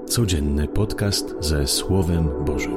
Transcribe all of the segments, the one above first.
Codzienny podcast ze Słowem Bożym.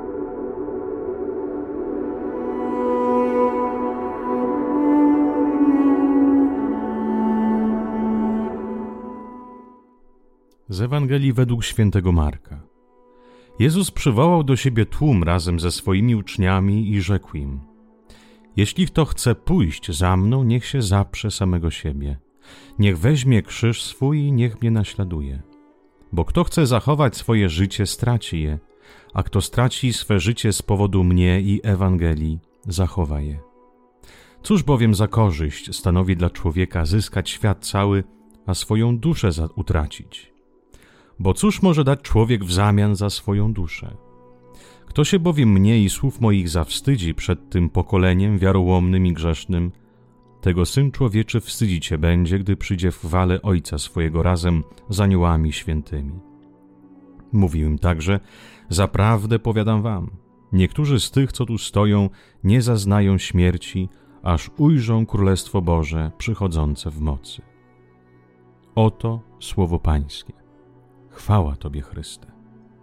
Z Ewangelii według świętego Marka. Jezus przywołał do siebie tłum razem ze swoimi uczniami i rzekł im: Jeśli kto chce pójść za mną, niech się zaprze samego siebie. Niech weźmie krzyż swój i niech mnie naśladuje. Bo kto chce zachować swoje życie, straci je, a kto straci swe życie z powodu mnie i Ewangelii, zachowa je. Cóż bowiem za korzyść stanowi dla człowieka zyskać świat cały, a swoją duszę utracić? Bo cóż może dać człowiek w zamian za swoją duszę? Kto się bowiem mnie i słów moich zawstydzi przed tym pokoleniem wiarołomnym i grzesznym, tego Syn Człowieczy wstydzić się będzie, gdy przyjdzie w chwale Ojca swojego razem z aniołami świętymi. Mówił im także: Zaprawdę powiadam wam, niektórzy z tych, co tu stoją, nie zaznają śmierci, aż ujrzą Królestwo Boże przychodzące w mocy. Oto słowo Pańskie. Chwała Tobie, Chryste.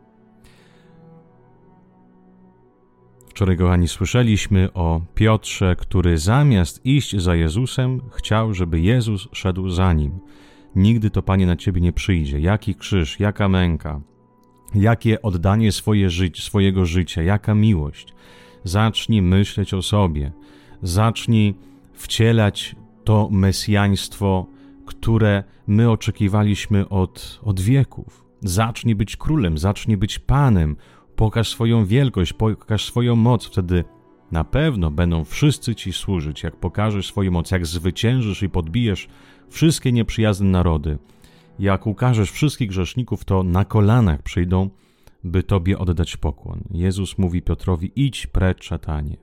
Wczoraj, kochani, słyszeliśmy o Piotrze, który zamiast iść za Jezusem, chciał, żeby Jezus szedł za nim. Nigdy to, Panie, na Ciebie nie przyjdzie. Jaki krzyż, jaka męka, jakie oddanie swojego życia, jaka miłość. Zacznij myśleć o sobie. Zacznij wcielać to mesjaństwo, które my oczekiwaliśmy od wieków. Zacznij być królem, zacznij być Panem. Pokaż swoją wielkość, pokaż swoją moc, wtedy na pewno będą wszyscy Ci służyć. Jak pokażesz swoją moc, jak zwyciężysz i podbijesz wszystkie nieprzyjazne narody, jak ukażesz wszystkich grzeszników, to na kolanach przyjdą, by Tobie oddać pokłon. Jezus mówi Piotrowi: idź precz, szatanie.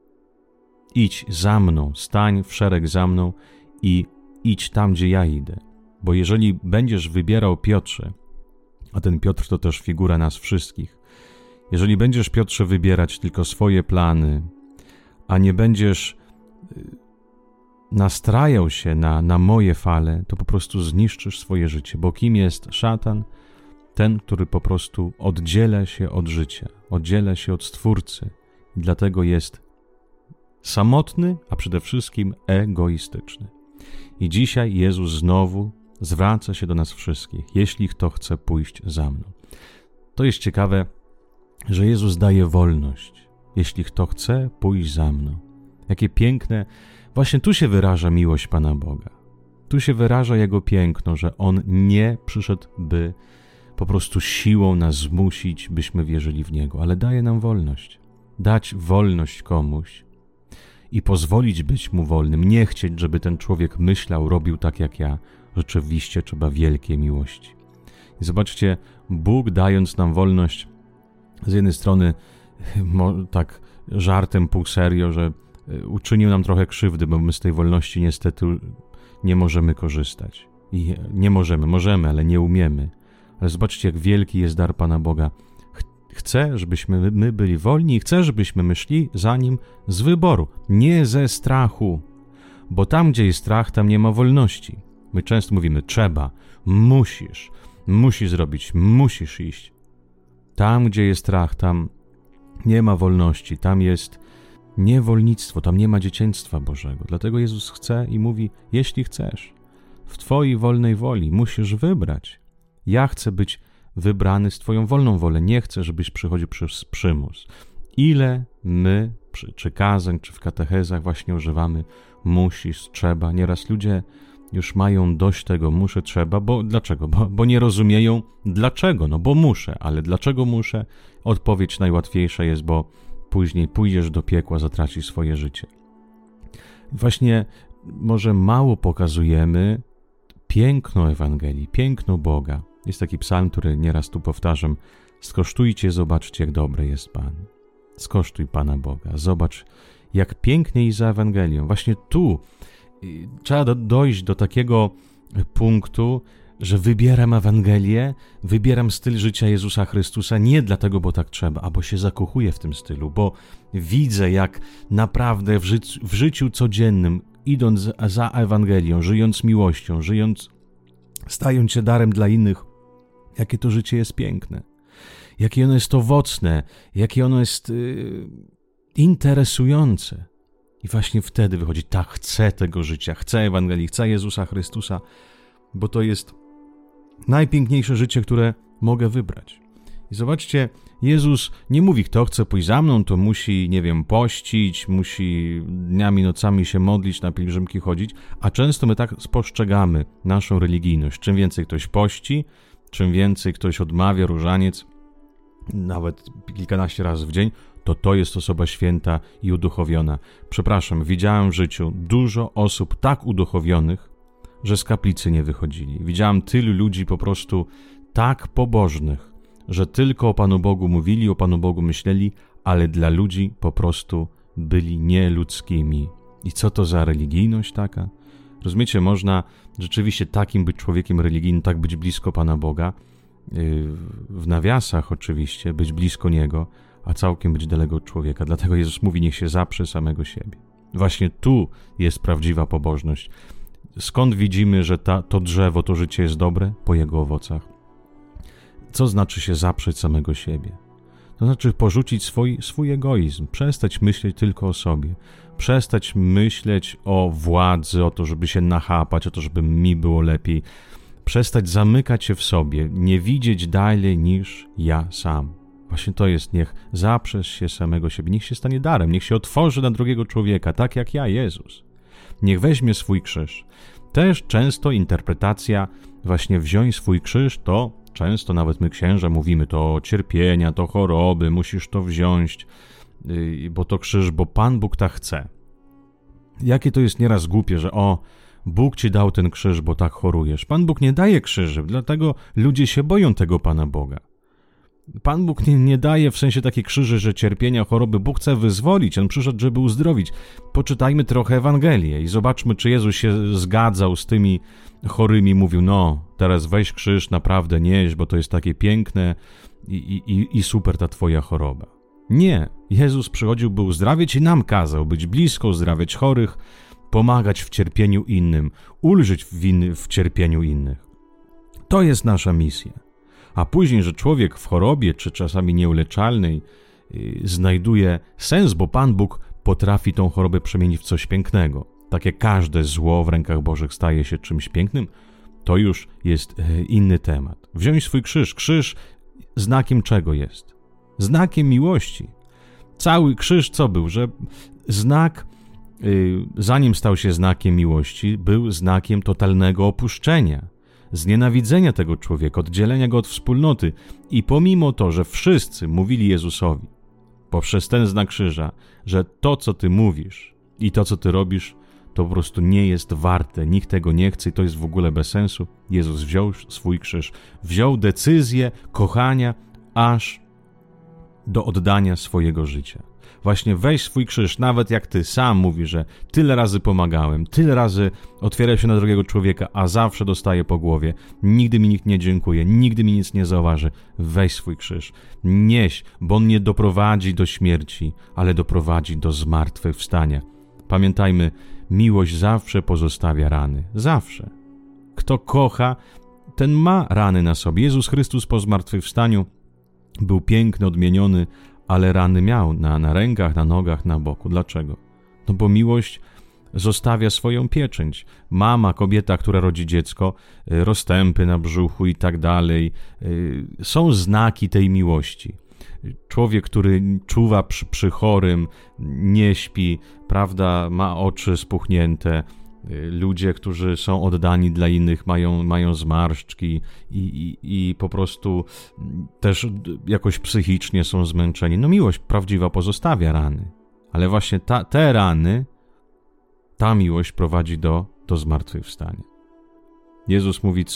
Idź za mną, stań w szereg za mną i idź tam, gdzie ja idę. Bo jeżeli będziesz wybierał Piotrze, a ten Piotr to też figura nas wszystkich, jeżeli będziesz, Piotrze, wybierać tylko swoje plany, a nie będziesz nastrajał się na moje fale, to po prostu zniszczysz swoje życie. Bo kim jest szatan? Ten, który po prostu oddziela się od życia, oddziela się od Stwórcy. I dlatego jest samotny, a przede wszystkim egoistyczny. I dzisiaj Jezus znowu zwraca się do nas wszystkich: jeśli kto chce pójść za mną. To jest ciekawe, że Jezus daje wolność. Jeśli kto chce pójść za mną. Jakie piękne, właśnie tu się wyraża miłość Pana Boga. Tu się wyraża Jego piękno, że On nie przyszedł, by po prostu siłą nas zmusić, byśmy wierzyli w Niego, ale daje nam wolność. Dać wolność komuś i pozwolić być mu wolnym. Nie chcieć, żeby ten człowiek myślał, robił tak jak ja. Rzeczywiście trzeba wielkiej miłości. I zobaczcie, Bóg, dając nam wolność, z jednej strony tak żartem, pół serio, że uczynił nam trochę krzywdy, bo my z tej wolności niestety nie możemy korzystać. I nie możemy, ale nie umiemy. Ale zobaczcie, jak wielki jest dar Pana Boga. Chce, żebyśmy my byli wolni i chce, żebyśmy my szli za Nim z wyboru, nie ze strachu. Bo tam, gdzie jest strach, tam nie ma wolności. My często mówimy: trzeba, musisz zrobić, musisz iść. Tam, gdzie jest strach, tam nie ma wolności, tam jest niewolnictwo, tam nie ma dzieciństwa Bożego. Dlatego Jezus chce i mówi: jeśli chcesz, w Twojej wolnej woli musisz wybrać. Ja chcę być wybrany z Twoją wolną wolę, nie chcę, żebyś przychodził przez przymus. Ile my, czy kazań, czy w katechezach właśnie używamy musisz, trzeba. Nieraz ludzie już mają dość tego muszę, trzeba, bo dlaczego? Bo nie rozumieją dlaczego, no bo muszę, ale dlaczego muszę? Odpowiedź najłatwiejsza jest: bo później pójdziesz do piekła, zatracisz swoje życie. Właśnie może mało pokazujemy piękno Ewangelii, piękno Boga. Jest taki psalm, który nieraz tu powtarzam: skosztujcie, zobaczcie, jak dobry jest Pan. Skosztuj Pana Boga, zobacz, jak pięknie iść za Ewangelią. Właśnie tu trzeba dojść do takiego punktu, że wybieram Ewangelię, wybieram styl życia Jezusa Chrystusa nie dlatego, bo tak trzeba, a bo się zakochuję w tym stylu, bo widzę, jak naprawdę w życiu codziennym, idąc za Ewangelią, żyjąc miłością, stając się darem dla innych, Jakie to życie jest piękne, jakie ono jest owocne, jakie ono jest interesujące. I właśnie wtedy wychodzi, tak, chcę tego życia, chcę Ewangelii, chcę Jezusa Chrystusa, bo to jest najpiękniejsze życie, które mogę wybrać. I zobaczcie, Jezus nie mówi, kto chce pójść za mną, to musi, pościć, musi dniami, nocami się modlić, na pielgrzymki chodzić, a często my tak spostrzegamy naszą religijność. Czym więcej ktoś pości, czym więcej ktoś odmawia różaniec, nawet kilkanaście razy w dzień, to jest osoba święta i uduchowiona. Przepraszam, widziałem w życiu dużo osób tak uduchowionych, że z kaplicy nie wychodzili. Widziałem tylu ludzi po prostu tak pobożnych, że tylko o Panu Bogu mówili, o Panu Bogu myśleli, ale dla ludzi po prostu byli nieludzkimi. I co to za religijność taka? Rozumiecie, można rzeczywiście takim być człowiekiem religijnym, tak być blisko Pana Boga, w nawiasach oczywiście, być blisko Niego, a całkiem być daleko od człowieka. Dlatego Jezus mówi, niech się zaprze samego siebie. Właśnie tu jest prawdziwa pobożność. Skąd widzimy, że to drzewo, to życie jest dobre? Po jego owocach. Co znaczy się zaprzeć samego siebie? To znaczy porzucić swój egoizm, przestać myśleć tylko o sobie, przestać myśleć o władzy, o to, żeby się nachapać, o to, żeby mi było lepiej, przestać zamykać się w sobie, nie widzieć dalej niż ja sam. Właśnie to jest, niech zaprzesz się samego siebie, niech się stanie darem, niech się otworzy na drugiego człowieka, tak jak ja, Jezus. Niech weźmie swój krzyż. Też często interpretacja właśnie wziąć swój krzyż, to często nawet my księża mówimy, to cierpienia, to choroby, musisz to wziąć, bo to krzyż, bo Pan Bóg tak chce. Jakie to jest nieraz głupie, że Bóg ci dał ten krzyż, bo tak chorujesz. Pan Bóg nie daje krzyży, dlatego ludzie się boją tego Pana Boga. Pan Bóg nie daje w sensie takie krzyży, że cierpienia, choroby. Bóg chce wyzwolić, On przyszedł, żeby uzdrowić. Poczytajmy trochę Ewangelię i zobaczmy, czy Jezus się zgadzał z tymi chorymi, mówił, teraz weź krzyż, naprawdę nieś, bo to jest takie piękne i super ta twoja choroba. Nie, Jezus przychodził, by uzdrawiać i nam kazał być blisko, uzdrawiać chorych, pomagać w cierpieniu innym, ulżyć w cierpieniu innych. To jest nasza misja. A później, że człowiek w chorobie, czy czasami nieuleczalnej, znajduje sens, bo Pan Bóg potrafi tą chorobę przemienić w coś pięknego. Tak jak każde zło w rękach Bożych staje się czymś pięknym, to już jest inny temat. Wziąć swój krzyż. Krzyż znakiem czego jest? Znakiem miłości. Cały krzyż co był? Że znak, zanim stał się znakiem miłości, był znakiem totalnego opuszczenia, znienawidzenia tego człowieka, oddzielenia go od wspólnoty. I pomimo to, że wszyscy mówili Jezusowi poprzez ten znak krzyża, że to, co ty mówisz i to, co ty robisz, to po prostu nie jest warte, nikt tego nie chce i to jest w ogóle bez sensu. Jezus wziął swój krzyż, wziął decyzję kochania aż do oddania swojego życia. Właśnie weź swój krzyż, nawet jak ty sam mówisz, że tyle razy pomagałem, tyle razy otwieram się na drugiego człowieka, a zawsze dostaję po głowie, nigdy mi nikt nie dziękuje, nigdy mi nic nie zauważy. Weź swój krzyż, nieś, bo on nie doprowadzi do śmierci, ale doprowadzi do zmartwychwstania. Pamiętajmy, miłość zawsze pozostawia rany. Zawsze. Kto kocha, ten ma rany na sobie. Jezus Chrystus po zmartwychwstaniu był piękny, odmieniony, ale rany miał na rękach, na nogach, na boku. Dlaczego? No bo miłość zostawia swoją pieczęć. Mama, kobieta, która rodzi dziecko, rozstępy na brzuchu i tak dalej, są znaki tej miłości. Człowiek, który czuwa przy chorym, nie śpi, prawda, ma oczy spuchnięte. Ludzie, którzy są oddani dla innych, mają zmarszczki i po prostu też jakoś psychicznie są zmęczeni. No miłość prawdziwa pozostawia rany. Ale właśnie te rany, ta miłość prowadzi do zmartwychwstania. Jezus mówi,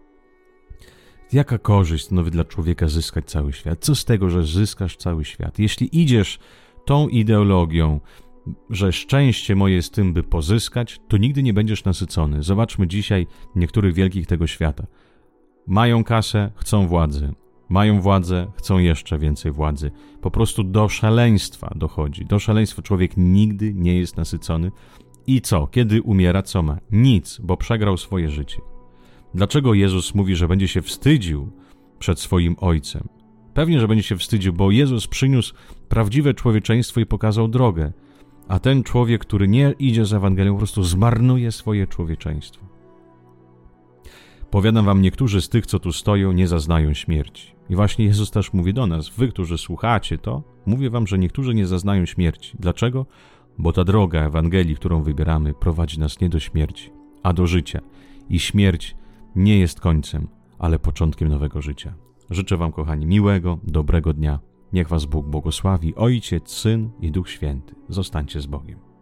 jaka korzyść stanowi dla człowieka zyskać cały świat? Co z tego, że zyskasz cały świat? Jeśli idziesz tą ideologią, że szczęście moje jest tym, by pozyskać, to nigdy nie będziesz nasycony. Zobaczmy dzisiaj niektórych wielkich tego świata. Mają kasę, chcą władzy. Mają władzę, chcą jeszcze więcej władzy. Po prostu do szaleństwa dochodzi. Do szaleństwa człowiek nigdy nie jest nasycony. I co? Kiedy umiera, co ma? Nic, bo przegrał swoje życie. Dlaczego Jezus mówi, że będzie się wstydził przed swoim Ojcem. Pewnie, że będzie się wstydził, bo Jezus przyniósł prawdziwe człowieczeństwo i pokazał drogę, a ten człowiek, który nie idzie z Ewangelią, po prostu zmarnuje swoje człowieczeństwo. Powiadam wam, niektórzy z tych, co tu stoją, nie zaznają śmierci. I właśnie Jezus też mówi do nas, wy, którzy słuchacie to, mówię wam, że niektórzy nie zaznają śmierci. Dlaczego? Bo ta droga Ewangelii, którą wybieramy, prowadzi nas nie do śmierci, a do życia. I śmierć nie jest końcem, ale początkiem nowego życia. Życzę wam, kochani, miłego, dobrego dnia. Niech was Bóg błogosławi, Ojciec, Syn i Duch Święty. Zostańcie z Bogiem.